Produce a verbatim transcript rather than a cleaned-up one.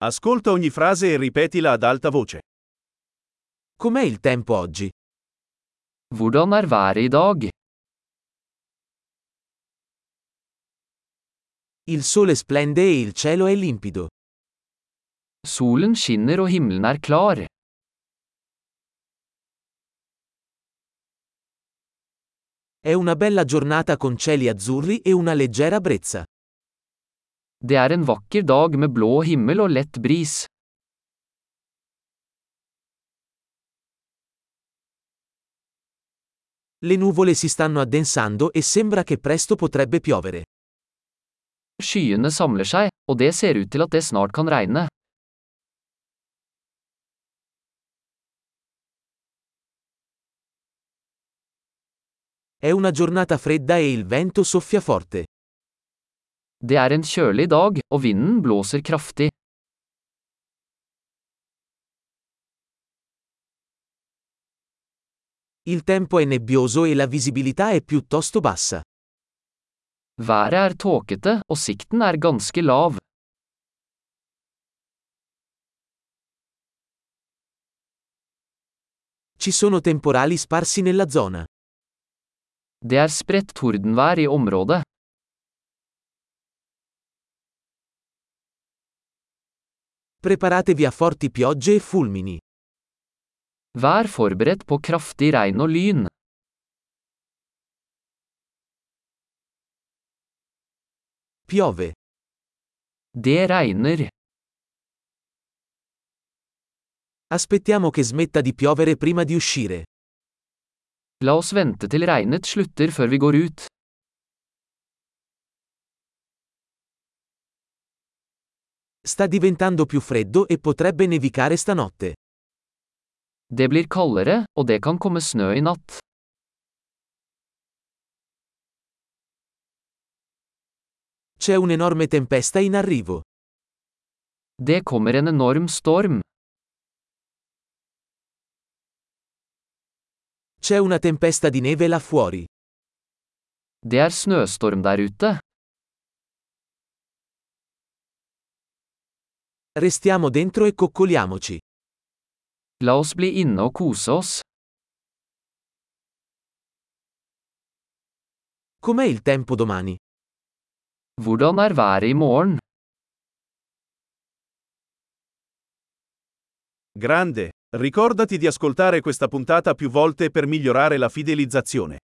Ascolta ogni frase e ripetila ad alta voce. Com'è il tempo oggi? Hvordan er været i dag? Il sole splende e il cielo è limpido. Solen skinner og himmelen er klar. È una bella giornata con cieli azzurri e una leggera brezza. Det er en vakker dag med blå himmel og lett bris. Le nuvole si stanno addensando e sembra che presto potrebbe piovere. Skyene samler seg, og det ser ut til at det snart kan regne. È una giornata fredda e il vento soffia forte. Det er en kjølig dag, og vinden blåser kraftig. Il tempo è nebbioso e la visibilità è piuttosto bassa. Været er tåkete, og sikten er ganske lav. Ci sono temporali sparsi nella zona. Det er spredt tordenvær i området. Preparatevi a forti piogge e fulmini. Vær forberedt på kraftig regn og lyn. Piove. Det regner. Aspettiamo che smetta di piovere prima di uscire. La oss vente til regnet slutter før vi går ut. Sta diventando più freddo e potrebbe nevicare stanotte. Det blir kaldere, og det kan komme snø i natt. C'è un'enorme tempesta in arrivo. Det kommer en enorm storm. C'è una tempesta di neve là fuori. Det er snøstorm der ute. Restiamo dentro e coccoliamoci. La oss bli inne og kose oss. Com'è il tempo domani? Hvordan er været i morgen? Grande! Ricordati di ascoltare questa puntata più volte per migliorare la fidelizzazione.